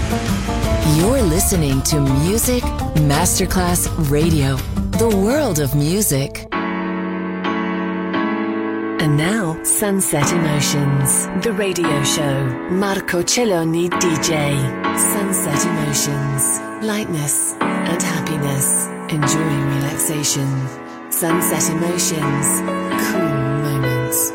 You're listening to Music Masterclass Radio, the world of music. And now, Sunset Emotions, the radio show. Marco Celloni DJ. Sunset Emotions, lightness and happiness. Enjoying relaxation. Sunset Emotions, cool moments.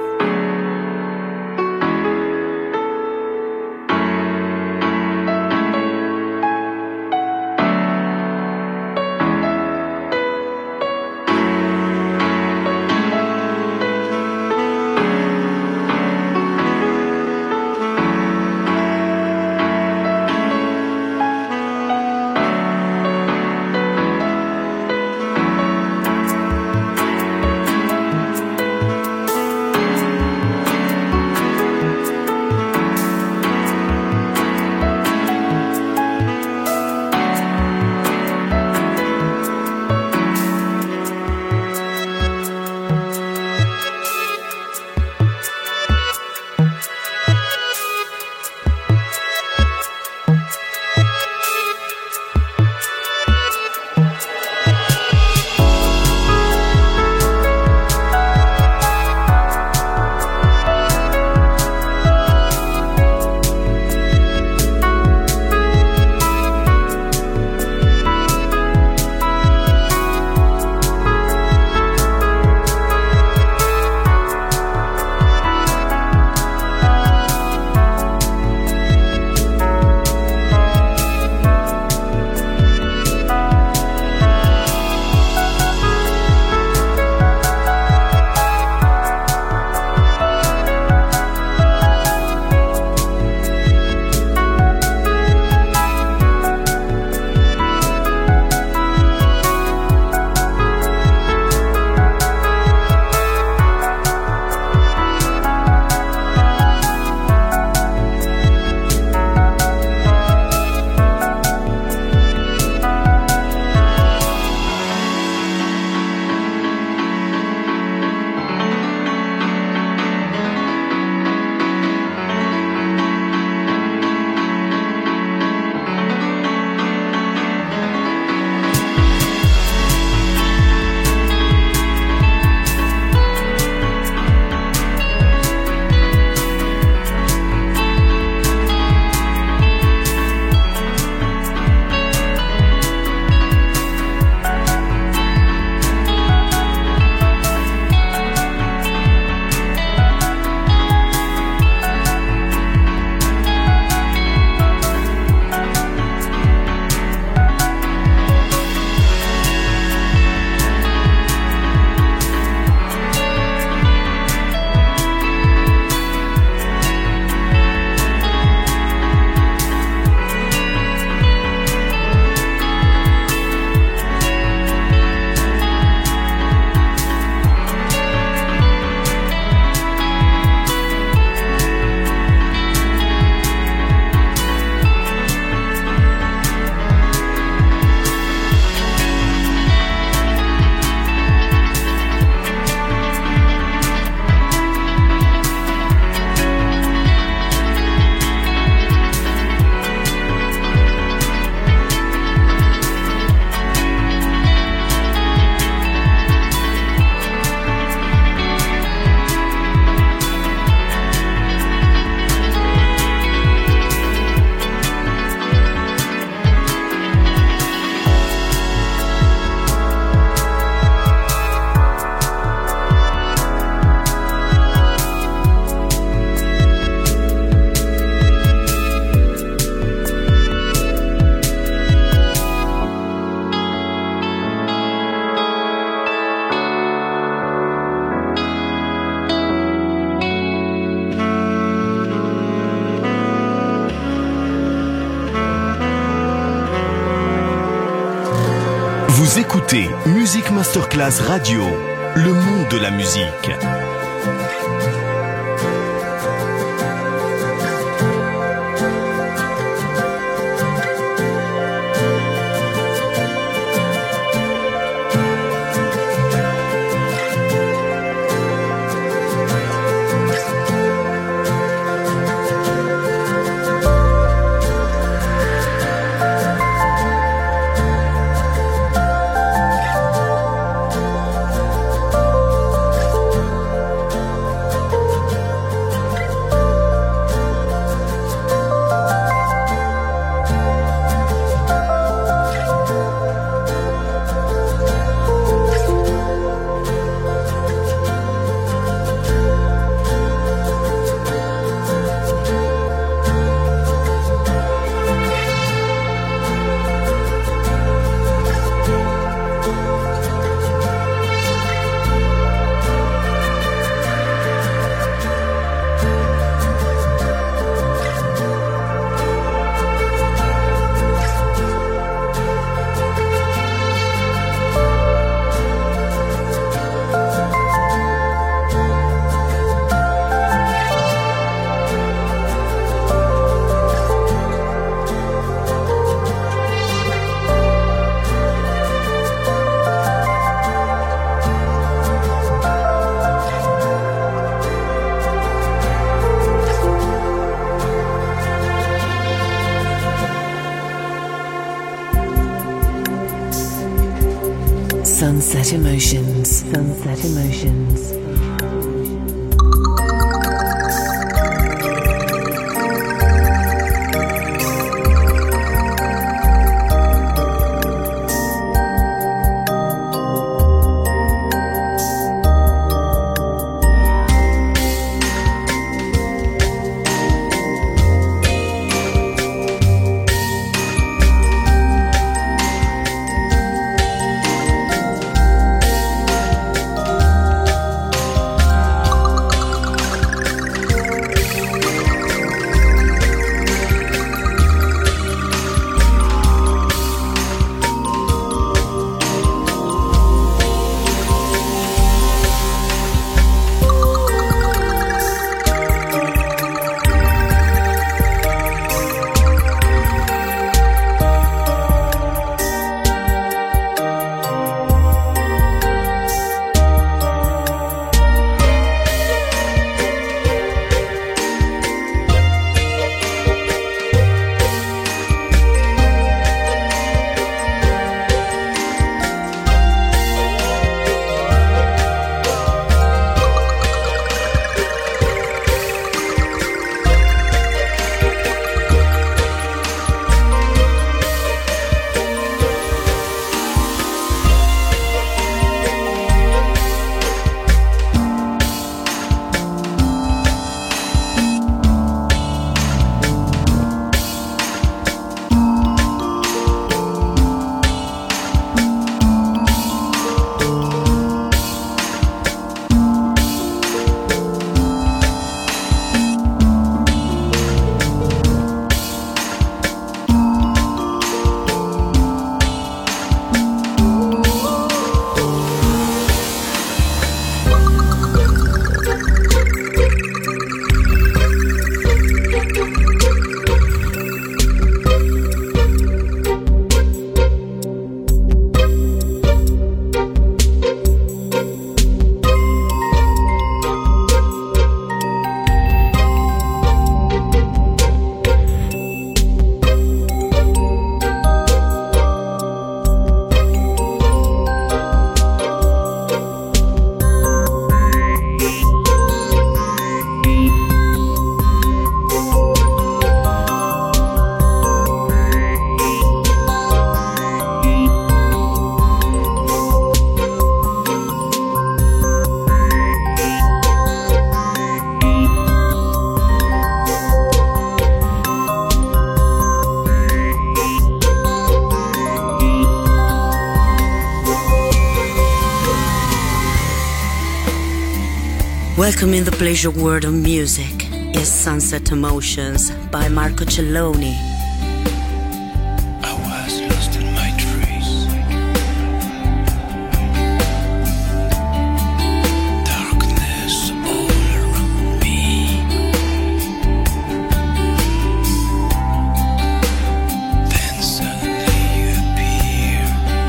Vous écoutez Music Masterclass Radio, le monde de la musique. Sunset Emotions. Sunset Emotions. Welcome in the pleasure world of music is Sunset Emotions by Marco Celloni. I was lost in my trees. Darkness all around me. Then suddenly you appear.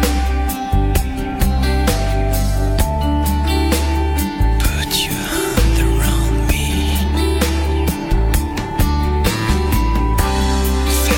Put your hand around me.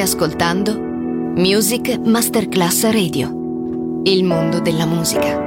ascoltando Music Masterclass Radio, il mondo della musica.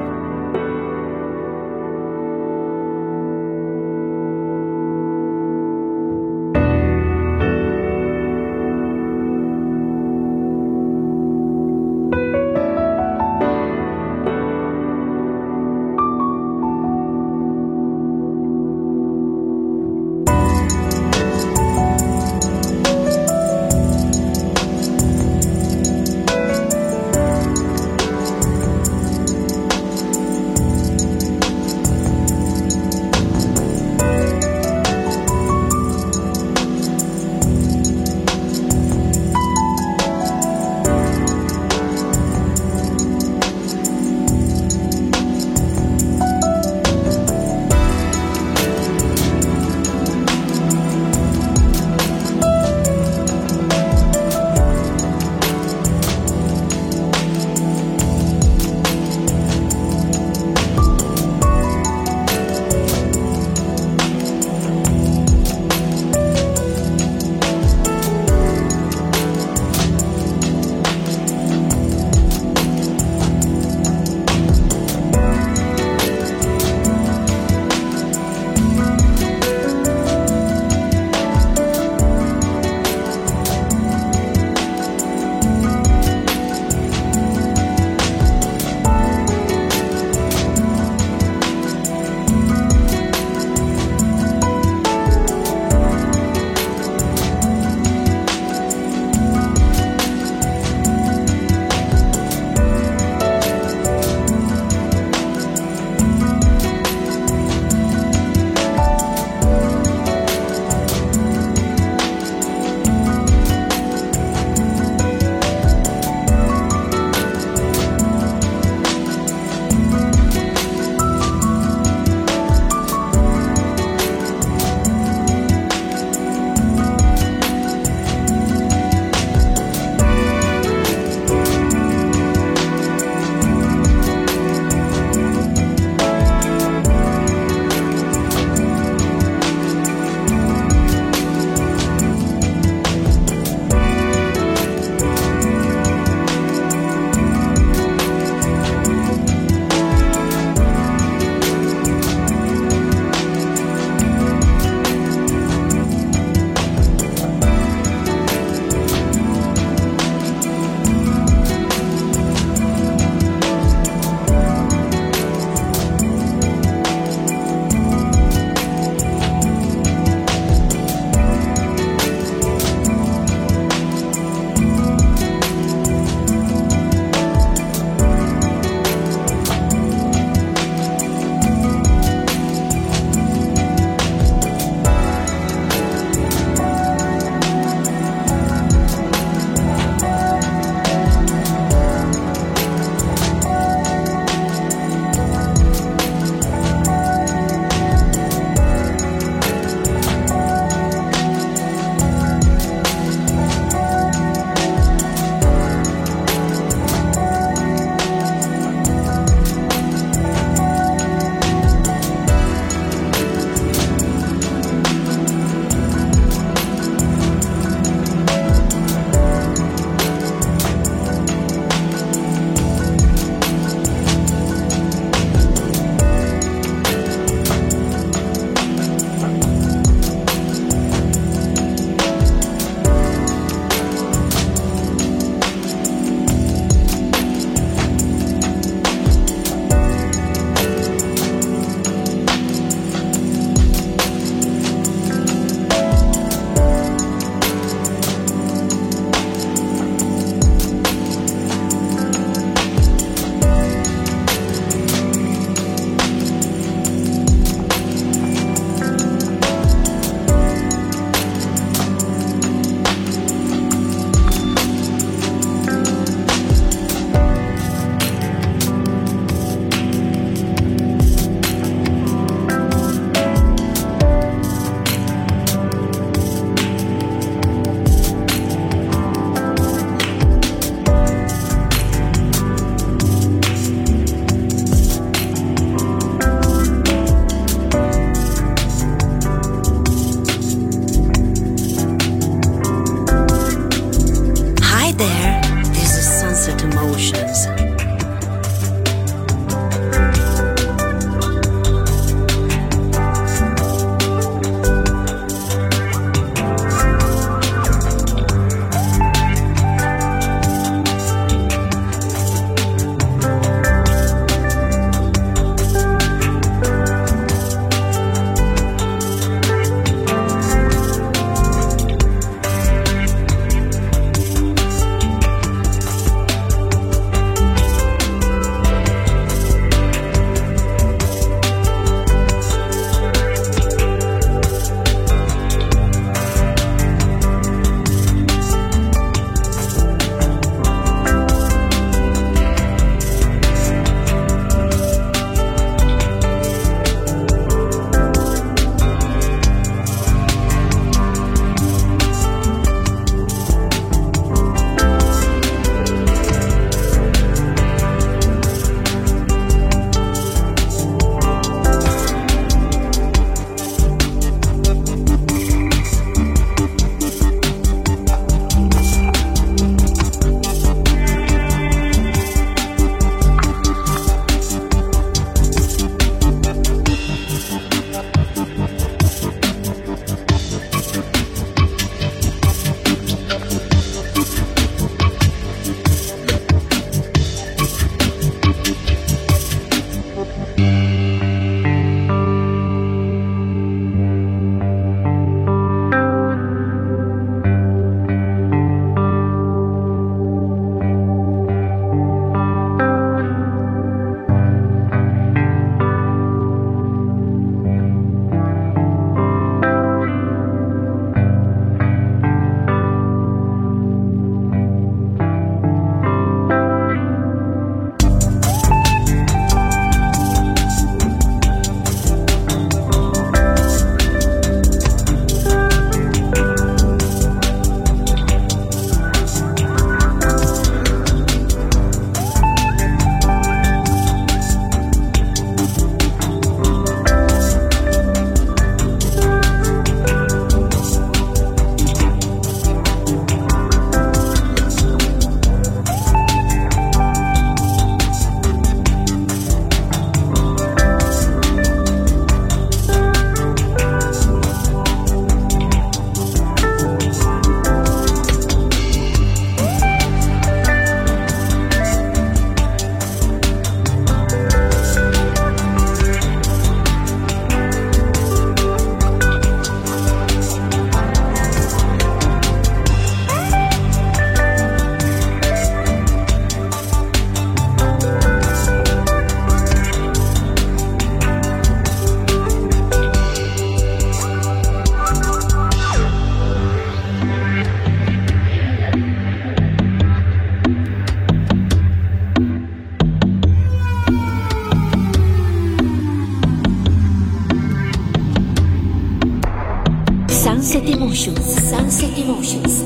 Sunset Emotions, Sunset Emotions.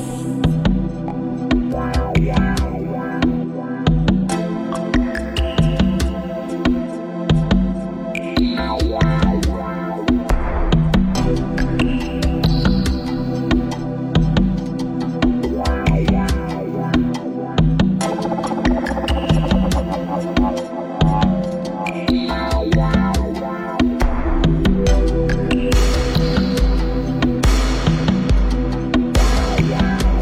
Yeah.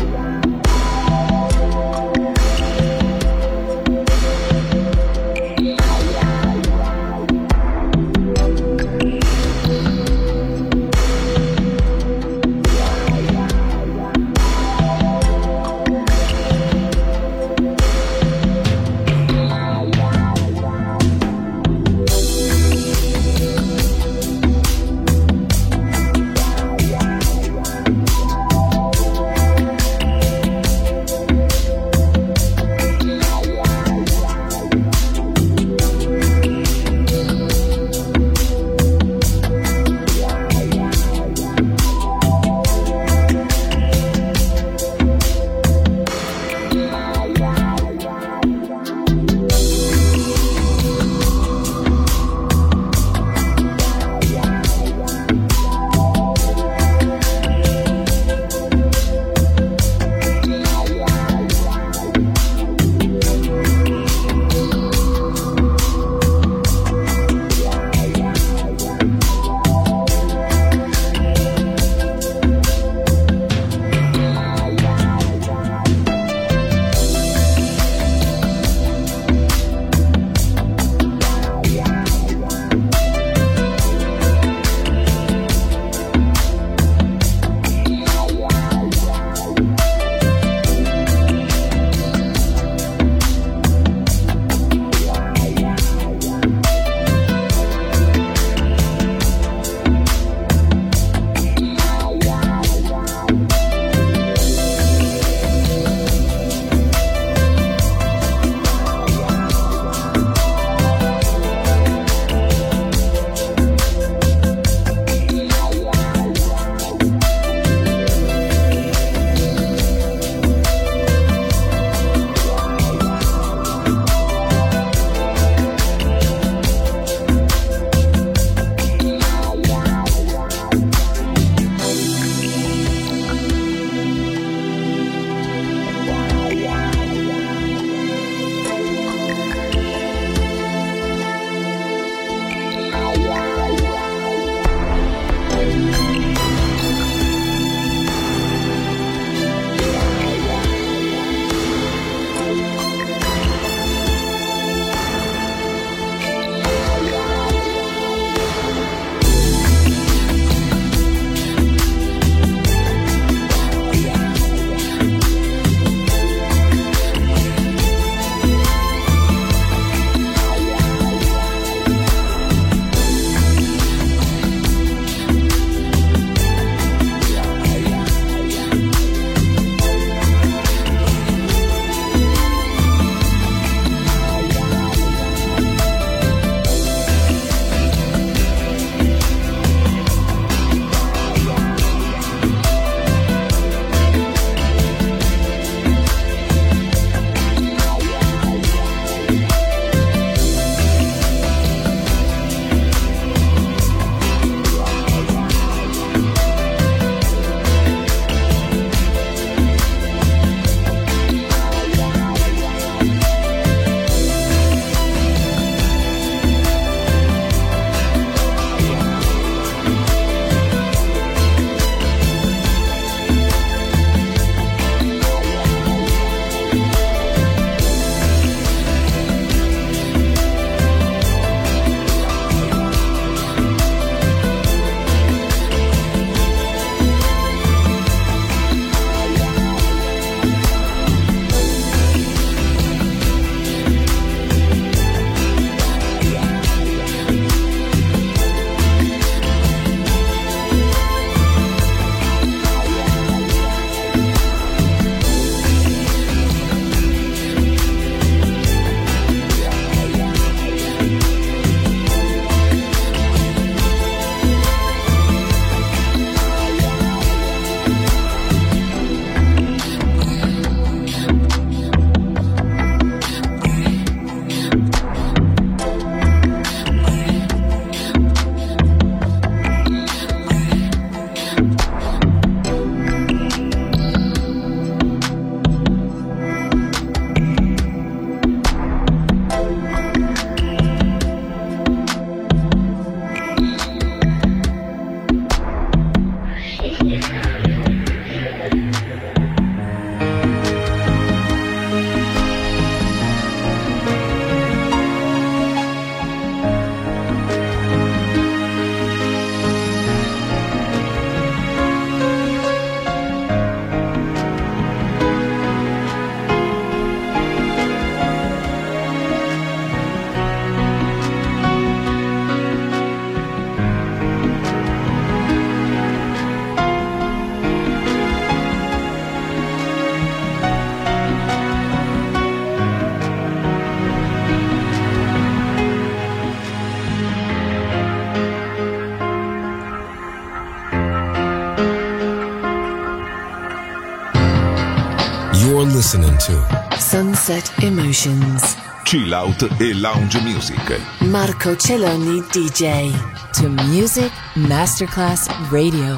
listening to Sunset Emotions. Chill out e lounge music. Marco Celloni DJ. To Music Masterclass Radio.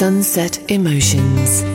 Sunset Emotions.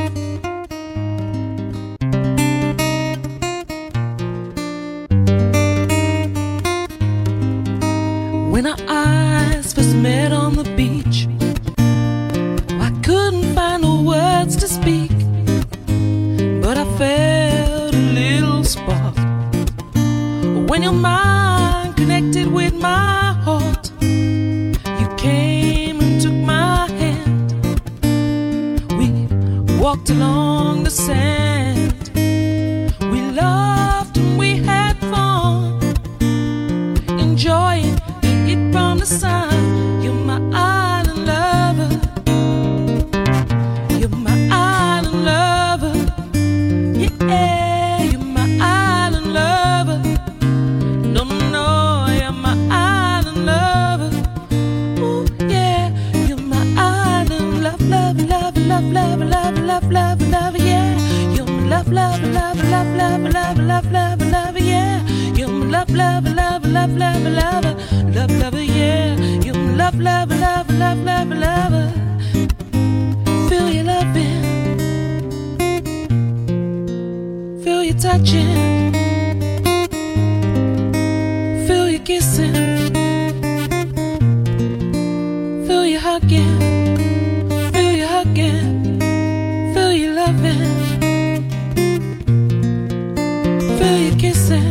When our eyes first met on the beach, I couldn't find the words to speak, but I felt a little spark when your mind connected with my heart. You came and took my hand. We walked along the sand. We laughed and we had fun, enjoying the heat from the sun. You're my island lover. You're my island lover. Yeah, you're my island lover. No, no, you're my island lover. Ooh, yeah, you're my island love, love, love, love, love, love, love, love, love, yeah. You're my love, love, love, love, love, love, love, love, love, yeah. You're my love, love, love, love, love, love, love, love, yeah. You're my love, love, love, love, love, love. Feel your loving, feel your touching, feel your kissing, feel your hugging, feel your hugging, feel your loving, feel your kissing,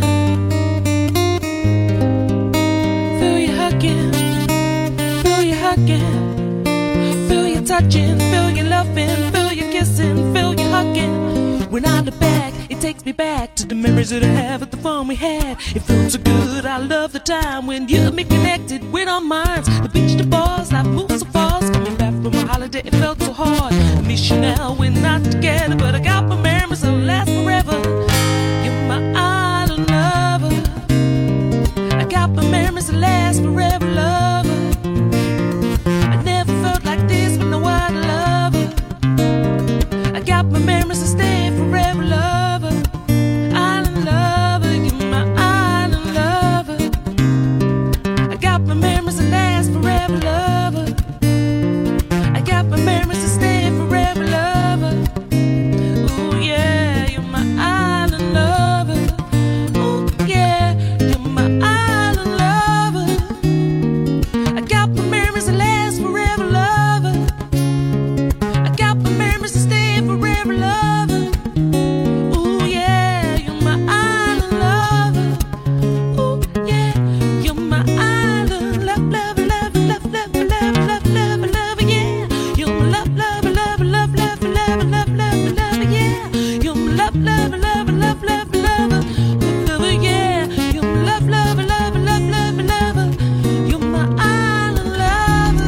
feel your hugging, feel your hugging, feel your touching, feel your loving, feel your kissing, feel your hugging. When I look back, it takes me back to the memories that I have of the fun we had. It felt so good, I love the time when you and me connected with our minds. The beach, the bars, life moves so fast. Coming back from a holiday, it felt so hard. I miss you now, we're not together, but I got my memories that'll last forever. You're my island lover. I got my memories that last forever, lover. I never felt like this with no other lover. I got my memories that stay forever, lover. Island lover, you're my island lover. I got my memories that last forever, lover. I got my memories that stay forever, lover. Ooh yeah, you're my island lover. Ooh yeah, you're my island lover. I got my memories that last forever, lover. I got my memories that stay forever, lover. Ooh yeah, you're my island lover. Ooh yeah, you're my island love, love, love, love, love, love, love, love, love, yeah. You're my love, love, love, love, love, love, love, love, love, yeah. You're my love, love, love, love, love, love, love, yeah. You're my love, love, love, love, love, love. You're my island lover.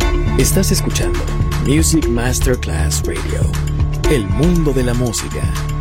Estás escuchando Music Masterclass Radio, el mundo de la música.